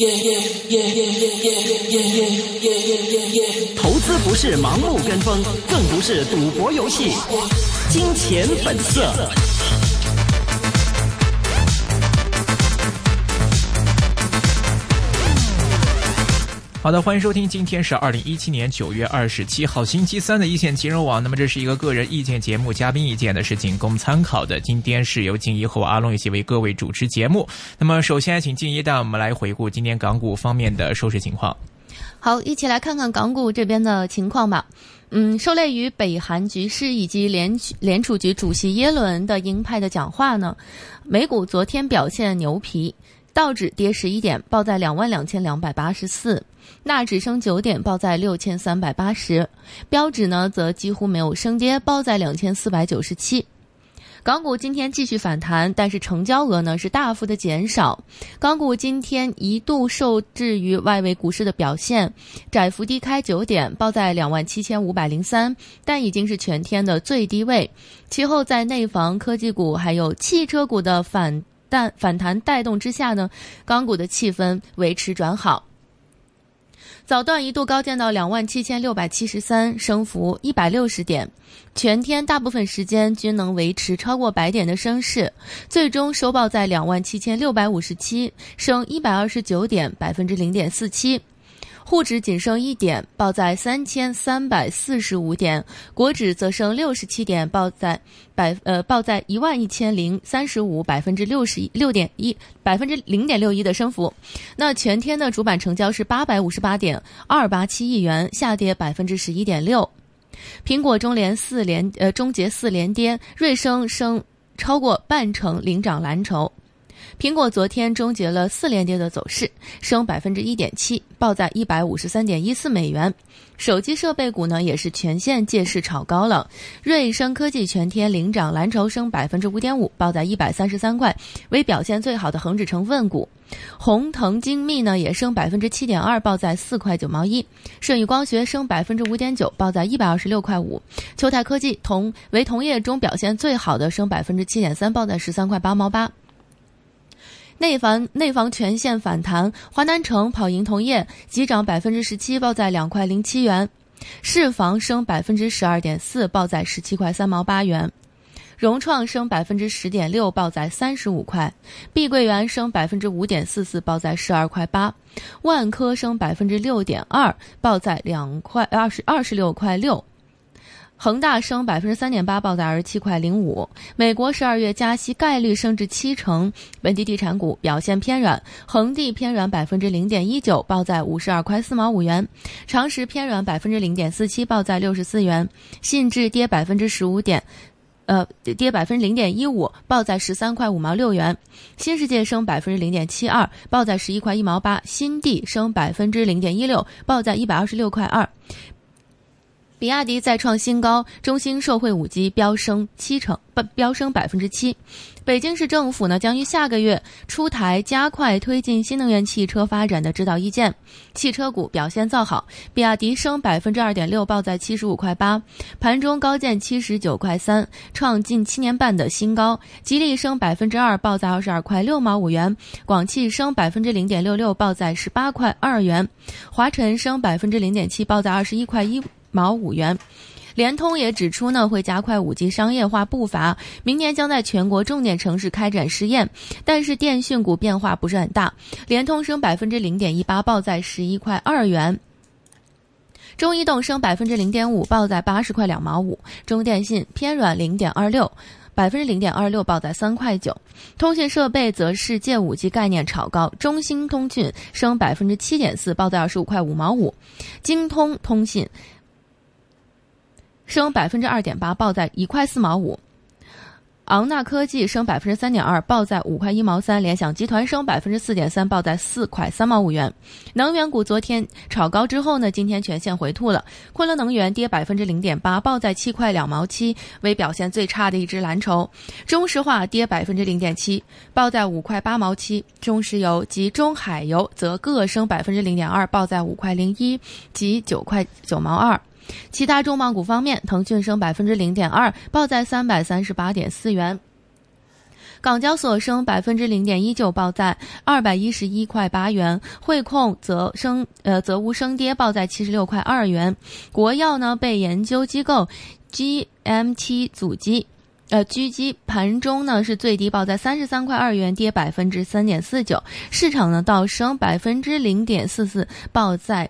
投资不是盲目跟风，更不是赌博游戏。金钱本色。好的，欢迎收听，今天是2017年9月27号星期三的一线金融网。那么这是一个个人意见节目，嘉宾意见呢是仅供参考的。今天是由静怡和我阿龙一起为各位主持节目。那么首先请静怡带我们来回顾今天港股方面的收市情况。 好，一起来看看港股这边的情况吧。受累于北韩局势以及联储局主席耶伦的鹰派的讲话呢，美股昨天表现牛皮，道指跌11点，报在22,284，纳指升9点，报在6380，标指呢则几乎没有升跌，报在2497。港股今天继续反弹，但是成交额呢是大幅的减少。港股今天一度受制于外围股市的表现，窄幅低开9点，报在27,503，但已经是全天的最低位。其后在内房、科技股还有汽车股的反弹带动之下呢，港股的气氛维持转好。早段一度高见到27,673，升幅160点，全天大部分时间均能维持超过100点的升势，最终收报在27,657，升129点，0.47%。沪指仅升1点，报在3,345点，国指则升67点，报在11,035， 0.61% 的升幅。那全天的主板成交是858.287亿元，下跌11.6%。苹果终结4连跌，瑞声升超过半成，领涨蓝筹。苹果昨天终结了4连跌的走势，升1.7%，报在153.14美元。手机设备股呢也是全线借势炒高了，瑞声科技全天领涨蓝筹，升5.5%，报在133块，为表现最好的恒指成分股。宏腾精密呢也升7.2%，报在4块9毛1。舜宇光学升5.9%，报在126块5。秋泰科技为同业中表现最好的，升7.3%，报在13块8毛8。内房全线反弹，华南城跑赢同业，急涨17%，报在2块07元。市房升12.4%，报在17块3毛8元。融创升10.6%，报在35块。碧桂园升5.44%，报在12块8。万科升6.2%，报在26块6。恒大升3.8%，报在27块05。美国12月加息概率升至70%，本地地产股表现偏软，恒地偏软0.19%，报在52块4毛5元。长实偏软0.47%，报在64元。信置跌0.15%，报在13块5毛6元。新世界升0.72%，报在11块1毛8。新地升0.16%，报在126块2。比亚迪再创新高，中兴受惠5G飙升7%。北京市政府呢将于下个月出台加快推进新能源汽车发展的指导意见。汽车股表现造好，比亚迪升2.6%，报在75块8，盘中高见79块3，创近7年半的新高。吉利升2%，报在22块6毛5元。广汽升0.66%，报在18块2元。华晨升0.7%，报在21块1毛5元。联通也指出呢，会加快5G 商业化步伐，明年将在全国重点城市开展试验。但是电讯股变化不是很大，联通升0.18%，报在11块2元。中移动升0.5%，报在80块2毛5。中电信偏软0.26%，报在3块9。通讯设备则是借5G 概念炒高，中兴通讯升7.4%，报在25块5毛5。京通通信升2.8%，报在1块4毛5。昂纳科技升3.2%，报在5块1毛3。联想集团升4.3%，报在4块3毛5元。能源股昨天炒高之后呢，今天全线回吐了。昆仑能源跌0.8%，报在7块2毛7，为表现最差的一只蓝筹。中石化跌0.7%，报在5块8毛7。中石油及中海油则各升0.2%，报在5块01及9块9毛2。其他重磅股方面，腾讯升0.2%，报在338.4元。 港交所升0.19%，报在211.8元；汇控则无升跌，报在76.2元。国药呢被研究机构 GMT 狙击，盘中呢是最低报在33.2元，跌3.49%，市场呢倒升0.44%，报在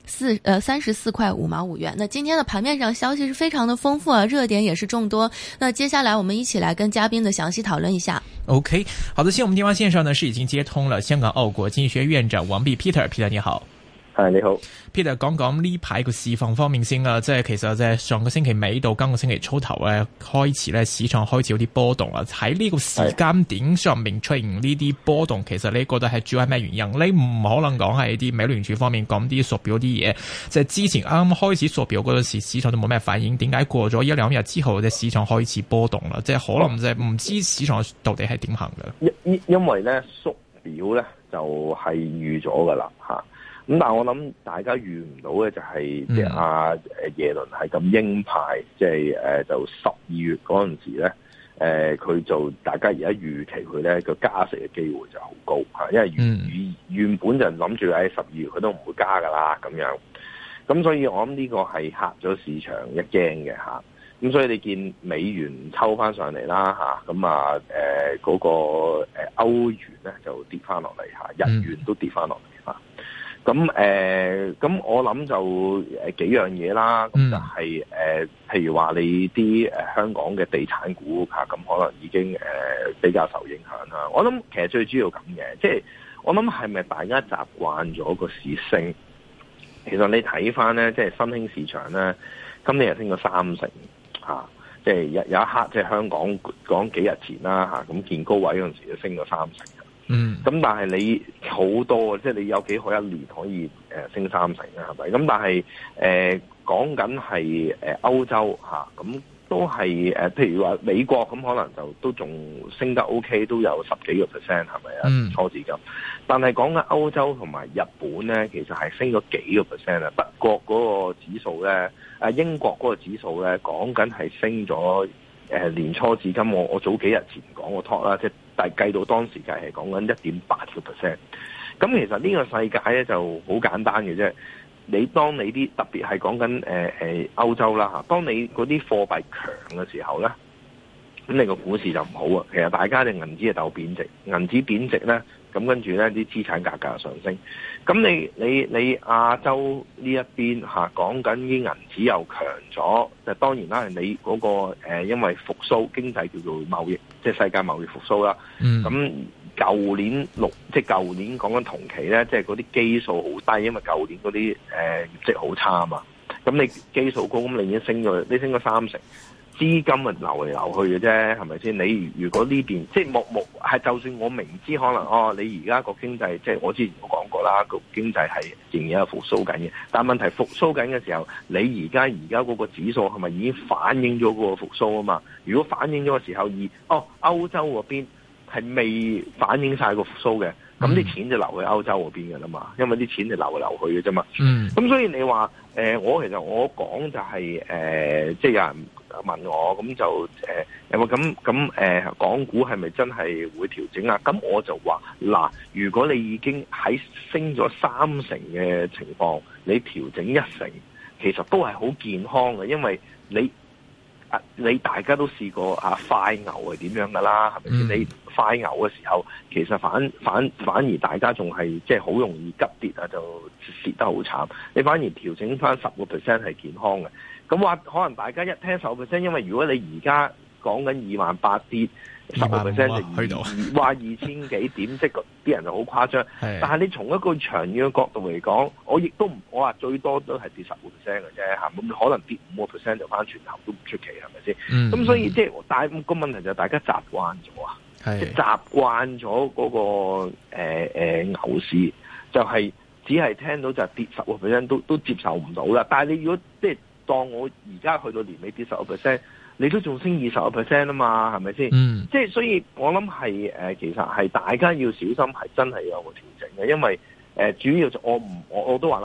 34.5毛元。那今天的盘面上消息是非常的丰富啊，热点也是众多。那接下来我们一起来跟嘉宾的详细讨论一下。 OK， 好的，现在我們電話線上呢是已經接通了香港澳國經濟學院長王弼 Peter 你好。 係你好 ，Peter 講呢排個市況方面先啦，即係其實即係上個星期尾到今個星期初頭咧，開始咧市場開始有啲波動啊。喺呢個時間點上面出現呢啲波動，其實你覺得係主要係咩原因？你唔可能講係啲美聯儲方面講啲縮表啲嘢，即係之前啱啱開始縮表嗰陣時，市場都冇咩反應。點解過咗一兩日之後，隻市場開始波動啦？即係可能即係唔知市場到底係點行嘅。 因為咧縮表咧就係預咗噶啦嚇。咁但係我諗大家預唔到嘅就係即係阿耶倫係咁鷹派，即係就12月嗰陣時咧，佢就大家而家預期佢咧個加息嘅機會就好高嚇，因為原本就諗住喺12月佢都唔會加噶啦咁樣，咁所以我諗呢個係嚇咗市場一驚嘅嚇，咁所以你見美元抽翻上嚟啦嚇，咁嗰個歐元咧就跌翻落嚟嚇，日元都跌翻落嚟嚇。咁我諗就幾樣嘢啦，咁就係譬如話你啲香港嘅地產股嚇，咁可能已經比較受影響啦。我諗其實最主要咁嘅，即係我諗係咪大家習慣咗個市升？其實你睇翻咧，即係新興市場咧，今年係升咗30%嚇，即係有一刻即係香港講幾日前啦嚇，咁見高位嗰陣時就升咗30%。咁但係你好多，即係你有幾可一年可以升30%啊？係咪？咁但係講緊係歐洲嚇，咁都係譬如話美國咁，可能就都仲升得 OK， 都有10幾個%，係咪啊？初資金。但係講緊歐洲同埋日本咧，其實係升咗幾個%啊！德國嗰個指數咧，英國嗰個指數咧，講緊係升咗年初至今，我早幾日前講個 talk 啦，即係但係計到當時計係講緊1.8%。咁其實呢個世界咧就好簡單嘅啫。當你啲特別係講緊歐洲啦嚇，當你嗰啲貨幣強嘅時候咧，咁你個股市就唔好啊。其實大家嘅銀紙係鬥貶值，銀紙貶值咧，咁跟住咧啲資產價格上升。咁你亞洲呢一邊嚇講緊啲銀紙又強咗，就當然啦，你嗰個因為復甦經濟叫做貿易，即係世界貿易復甦啦。咁舊年即係舊年講緊同期咧，即係嗰啲基數好低，因為舊年嗰啲業績好差啊嘛。咁你基數高，咁你已經升咗30%。資金咪流嚟流去嘅啫，係咪先？你如果呢邊即係係，就算我明知可能你而家個經濟即係我之前都講過啦，個經濟係仍然係復甦緊嘅。但問題復甦緊嘅時候，你而家嗰個指數係咪已經反映咗嗰個復甦啊嘛？如果反映咗嘅時候，歐洲嗰邊係未反映晒個復甦嘅，咁啲錢就流去歐洲嗰邊嘅啦嘛，因為啲錢就流嚟流去嘅啫嘛。咁所以你話其實我講就係即係有人問我咁就有冇咁港股係咪真係會調整啊？咁我就話嗱，如果你已經喺升咗30%嘅情況，你調整1成，其實都係好健康嘅，因為你大家都試過快牛係點樣噶啦，係咪先？你快牛嘅時候，其實反而大家仲係即係好容易急跌啊，就跌得好慘。你反而調整翻10%係健康嘅。咁話可能大家一聽10%，因為如果你而家講緊28,000跌10%就去到話2000幾點，即係啲人就好誇張。但係你從一個長遠嘅角度嚟講，我話最多都係跌10%嘅啫嚇，咁可能跌5%就翻轉頭都唔出奇，係咪先？咁所以即係但係個問題就係大家習慣咗啊，即係習慣咗嗰個牛市，就係只係聽到就係跌10%都接受唔到啦。但係你如果即係當我而家去到年尾跌10%，你都仲升20%啊嘛，係咪先？即係所以我諗係其實係大家要小心，係真係有個調整嘅，因為主要就我都話啦，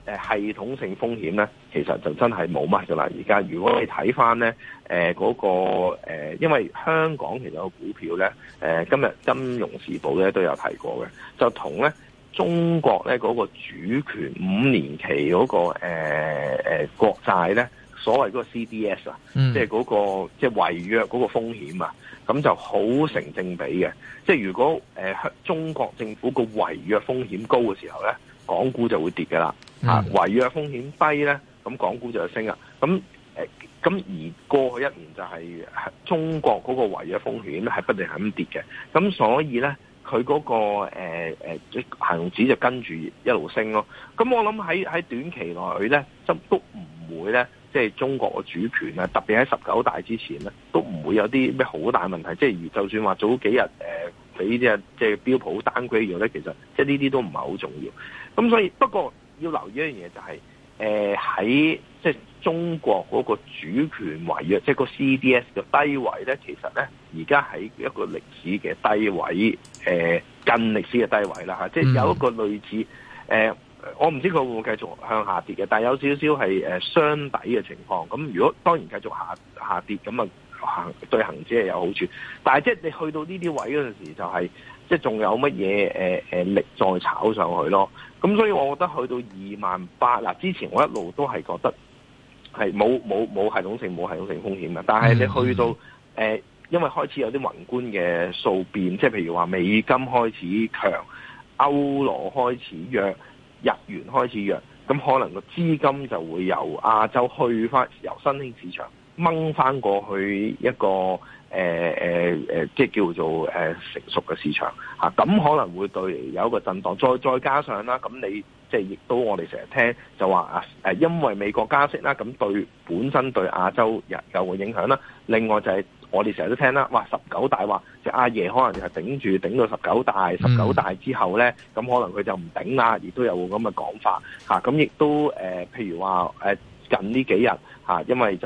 系統性風險咧，其實就真係冇乜噶啦。而家如果你睇翻咧，嗰個因為香港其實個股票咧，今日金融時報咧都有提過嘅，就同咧中國咧嗰個主權5年期嗰個國債咧，所謂嗰個 CDS 啊，即係嗰個即係違約嗰個風險啊，咁就好成正比嘅。即係如果中國政府個違約風險高嘅時候咧，港股就會跌㗎啦。違約風險低咧，咁港股就會升啦。咁而過去一年就係中國嗰個違約風險咧係不斷係咁跌嘅。咁所以咧，佢嗰個恆指就跟住一路升咯。咁我諗喺短期內咧，都唔會咧。即係中國嘅主權啊，特別喺19大之前咧，都唔會有啲咩好大問題。即係就算話早幾日俾啲即係標普單歸咗咧，其實即係呢啲都唔係好重要。咁所以不過要留意一樣嘢就係喺即係中國嗰個主權違約，即係個 CDS 嘅低位咧，其實咧而家喺一個歷史嘅低位，近歷史嘅低位啦嚇，即係有一個類似我唔知佢會唔會繼續向下跌嘅，但係有少少係雙底嘅情況。咁如果當然繼續下跌，咁啊對恆指係有好處。但係即係你去到呢啲位嗰陣時，就係即係仲有乜嘢力再炒上去咯。咁所以我覺得去到28,000嗱，之前我一路都係覺得係冇系統性風險嘅。但係你去到因為開始有啲宏觀嘅數變，即係譬如話美金開始強，歐羅開始弱，日元開始弱，咁可能個資金就會由亞洲去翻，由新興市場掹翻過去一個即係叫做成熟嘅市場嚇，咁可能會對有一個震盪，再加上啦，咁你即係亦都我哋成日聽就話因為美國加息啦，咁本身對亞洲有個影響啦。另外就係我哋成日都聽啦，話19大話即係阿爺可能係頂到19大，19大之後咧，咁可能佢就唔頂啦，亦都有咁嘅講法嚇。咁亦都譬如話近呢幾日嚇，因為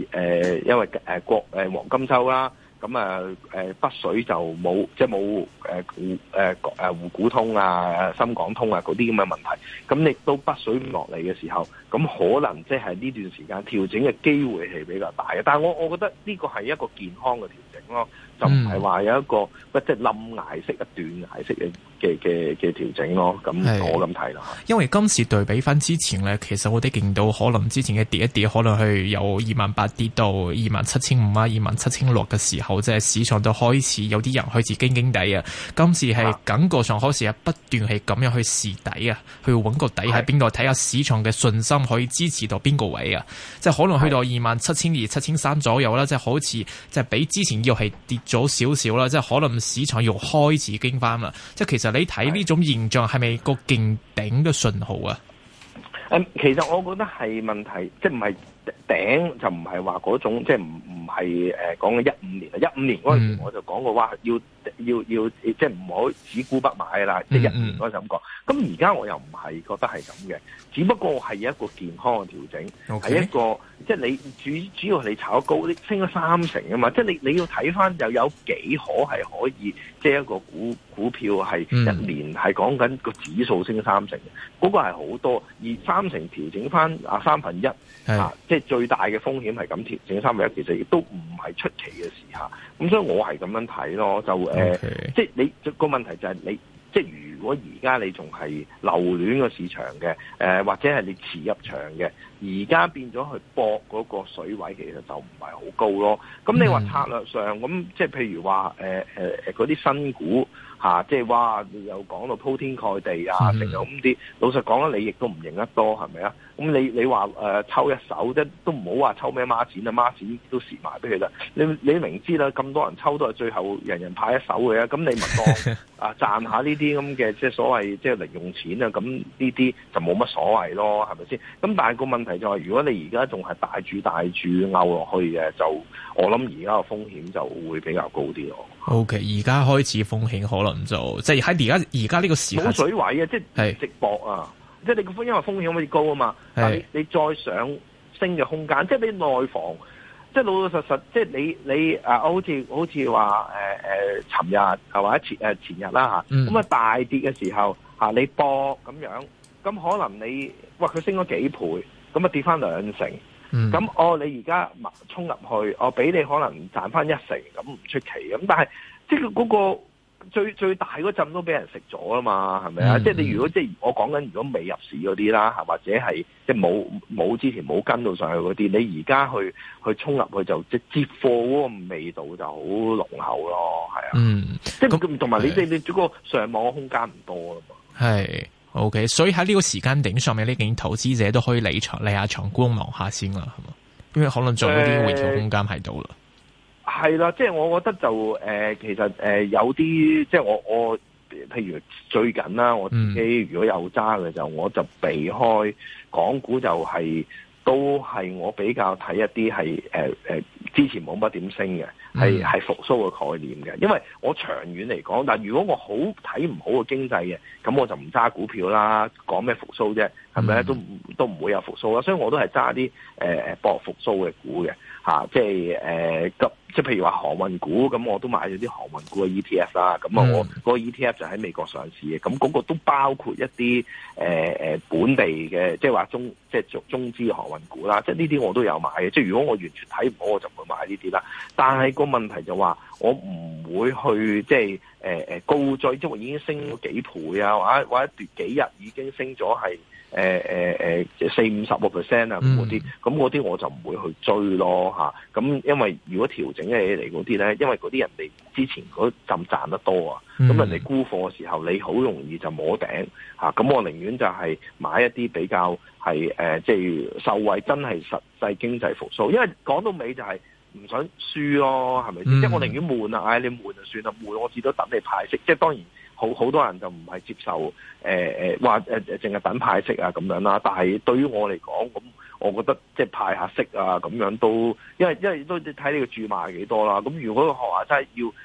黃金週啦。咁北水就冇即係冇滬股通啊、深港通啊嗰啲咁嘅問題，咁亦都北水唔落嚟嘅時候，咁可能即係呢段時間調整嘅機會係比較大嘅。但係我覺得呢個係一個健康嘅調整咯，就唔係話有一個即係冧崖式啊、斷崖式嘅調整咯。咁我咁睇啦。 因為今次對比翻之前咧，其實我哋見到可能之前嘅跌一跌，可能係由28,000跌到27,500啊、27,600嘅時候。即係市場都開始有啲人開始驚地啊！今次係感覺上開始係不斷係咁樣去試底啊，去揾個底喺邊度，睇下市場嘅信心可以支持到邊個位啊！即係可能去到27,200、7,300左右啦，即係好似即係比之前又係跌咗少少啦，即係可能市場又開始驚翻啦！即係其實你睇呢種現象係咪個勁頂嘅信號啊？ 其實我覺得係問題，即係唔係頂就唔係話嗰種，即係唔係講緊15年啊！15年嗰陣時我就講過話要即係唔好只沽不買啦，即係15年嗰陣咁講。咁而家我又唔係覺得係咁嘅，只不過係一個健康嘅調整，係一個即係你主要係你炒高，你升咗30%啊嘛！即係你要睇翻又有幾可係可以，即係一個股票係一年係講緊個指數升30%嘅，嗰個係好多，而30%調整翻1/3即係最大嘅風險係咁調整1/3，其實亦都唔係出奇嘅事嚇。咁所以我係咁樣睇咯，就即係你個問題就係你，即係如果而家你仲係留戀個市場嘅，或者係你持入場嘅，而家變咗去搏嗰個水位，其實就唔係好高咯。咁你話策略上咁，即係譬如話嗰啲新股。即係話又講到鋪天蓋地啊，成日咁啲。老實講啦，你亦都唔認得多，係咪啊？咁你話抽一手啫，都唔好話抽咩孖展啊，孖展都蝕埋俾佢啦。你明知啦，咁多人抽都係最後人人派一手嘅，咁你咪當賺下呢啲咁嘅即係所謂即係零用錢啊，咁呢啲就冇乜所謂咯，係咪先？咁但係個問題就係，如果你而家仲係大注拗落去嘅，就我諗而家個風險就會比較高啲咯。 OK， 而家開始風險可能就即係喺而家呢個時間冇水位啊，即係直博啊，即係你個因為風險可以高啊嘛，但係你再上升嘅空間，即係你內房，即係老老實實，即係你好似話尋日或者前日啦嚇，咁大跌嘅時候你博咁樣， 咁可能你佢升咗幾倍，咁啊跌翻2成，咁你而家衝入去，俾你可能賺翻1成，咁唔出奇。咁但係即係嗰個最大嗰陣都俾人食咗啦嘛，係咪啊？即係你如果我講緊如果未入市嗰啲啦，或者係即係冇之前冇跟到上去嗰啲，你而家去衝入去就即係接貨嗰個味道就好濃厚咯，係啊，即係同埋你嗰個上網嘅空間唔多啦嘛。係 OK， 所以喺呢個時間點上面，呢件投資者都可以離下場觀望下先啦，係嘛？因為可能仲有啲回調空間喺度啦。 係啦，即係我覺得就其實有啲即係我譬如最近啦，我自己如果有揸嘅我就避開港股，都係我比較睇一啲係之前冇乜點升嘅，係復甦嘅概念嘅。因為我長遠嚟講，但如果我好睇唔好嘅經濟嘅，咁我就唔揸股票啦。講咩復甦啫？係咪都唔會有復甦啦。所以我都係揸啲博復甦嘅股嘅。即係即係譬如話航運股，咁我都買咗啲航運股嘅 ETF 啦。咁我嗰個 ETF 就喺美國上市嘅，咁嗰個都包括一啲本地嘅，即係話中資航運股啦。即係呢啲我都有買嘅。即係如果我完全睇唔好，我就唔會買呢啲啦。但係個問題就話，我唔會去即係高追，即係已經升咗幾倍啊，或者幾日已經升咗係40-50% 啊，嗰啲我就唔會去追咯嚇。咁因為如果調整起嚟嗰啲咧，因為嗰啲人哋之前嗰陣賺得多啊，咁人哋沽貨嘅時候，你好容易就摸頂嚇。咁我寧願就係買一啲比較係即係受惠真係實際經濟復甦，因為講到尾就係唔想輸咯，係咪先？即係我寧願悶啊，你悶就算啦，悶我至多等你派息。即係當然好多人就唔係接受話淨係等派息啊咁樣啦。但係對於我嚟講，咁我覺得即係派下息啊咁樣都，因為都睇你個注碼幾多啦。咁如果學話真係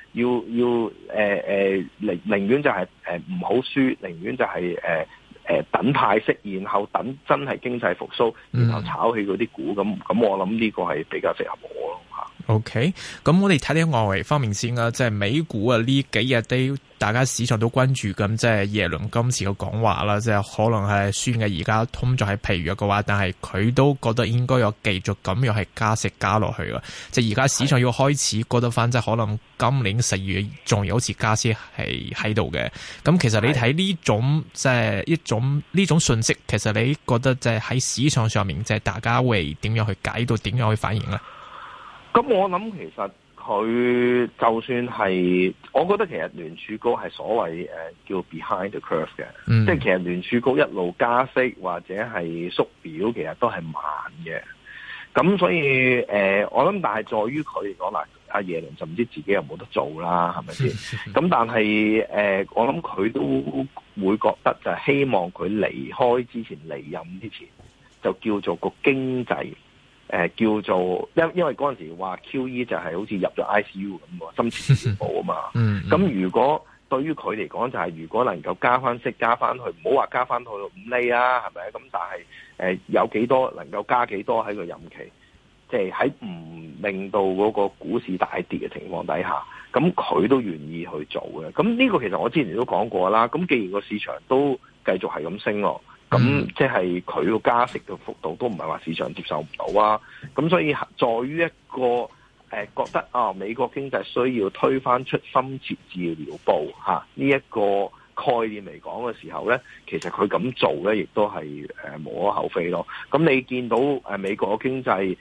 要寧願就係唔好輸，寧願就係等派息，然後等真係經濟復甦，然後炒起嗰啲股。咁我諗呢個係比較適合我咯嚇。 OK， 咁我哋睇睇外圍方面先啦，即係美股啊呢幾日都大家市場都關注緊，即係耶倫今次嘅講話啦，即係可能係宣嘅而家通脹係疲弱嘅話，但係佢都覺得應該有繼續咁樣係加息加落去嘅，即係而家市場要開始覺得翻，即係可能今年10月仲有好似加息係喺度嘅。咁其實你睇呢種即係呢種信息，其實你覺得即係喺市場上面，即係大家會點樣去解讀，點樣去反應咧？ 咁我諗其實佢就算係，我覺得其實聯儲局係所謂叫 behind the curve 嘅，即係其實聯儲局一路加息或者係縮表，其實都係慢嘅。咁所以我諗，但係在於佢嚟講啦，阿耶倫就唔知自己有冇得做啦，係咪先？咁但係我諗佢都會覺得就係希望佢離開之前，離任之前，就叫做個經濟。叫做因為嗰陣時話 QE 就係好似入咗 ICU 咁喎，深切治療部啊嘛。咁如果對於佢嚟講就係如果能夠加翻息加翻去，唔好話加翻去5厘啊，係咪？咁但係有幾多能夠加幾多喺個任期，即係喺唔令到嗰個股市大跌嘅情況底下，咁佢都願意去做嘅。咁呢個其實我之前都講過啦。咁既然個市場都繼續係咁升咯。咁即係佢個加息嘅幅度都唔係話市場接受唔到啊！咁所以在於一個覺得美國經濟需要推翻出深切治療部呢一個概念嚟講嘅時候咧，其實佢咁做咧，亦都係無可厚非咯。咁你見到美國嘅經濟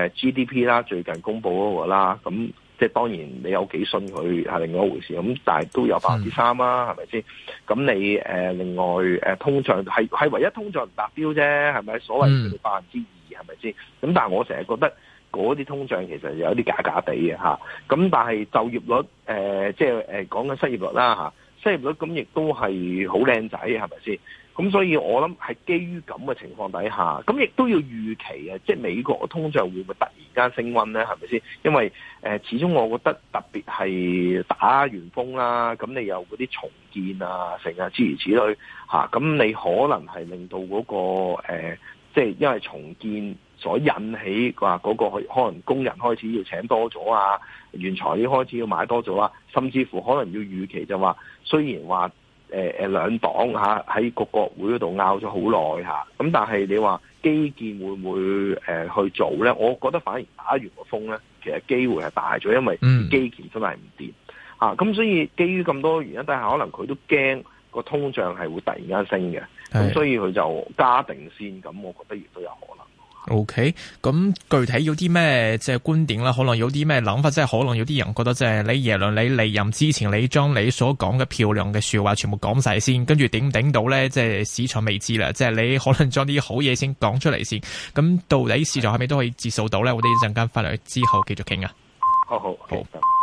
GDP 啦，最近公布嗰個啦，咁。即係當然你有幾信佢係另外一回事，咁但係都有3%啦，係咪先？咁你另外通脹係唯一通脹唔達標啫，係咪？所謂嘅2%係咪先？咁但係我成日覺得嗰啲通脹其實有啲假假地嘅嚇。咁但係就業率即係講緊失業率啦嚇，失業率咁亦都係好靚仔，係咪先？咁所以我諗係基於咁嘅情況底下，咁亦都要預期啊，即係美國嘅通脹會唔會突然間升溫咧？係咪先？因為始終我覺得特別係打完風啦，咁你有嗰啲重建啊，成日諸如此類嚇，咁你可能係令到嗰個即係因為重建所引起話嗰個可能工人開始要請多咗啊，原材料開始要買多咗啊，甚至乎可能要預期就話，雖然話兩黨喺個國會嗰度拗咗好耐嚇，咁但係你話基建會唔會去做咧？我覺得反而打完個風咧，其實機會係大咗，因為基建真係唔掂嚇。咁所以基於咁多原因，但係可能佢都驚個通脹係會突然間升嘅，咁所以佢就加定先。咁我覺得亦都有可能。 OK， 咁具體有啲咩即係觀點啦？可能有啲咩諗法？即係可能有啲人覺得即係你耶倫你離任之前，你將你所講嘅漂亮嘅說話全部講晒先，跟住頂唔頂到咧？即係市場未知啦。即係你可能將啲好嘢先講出嚟先。咁到底市場係咪都可以接受到咧？我哋一陣間翻嚟之後繼續傾啊。 好。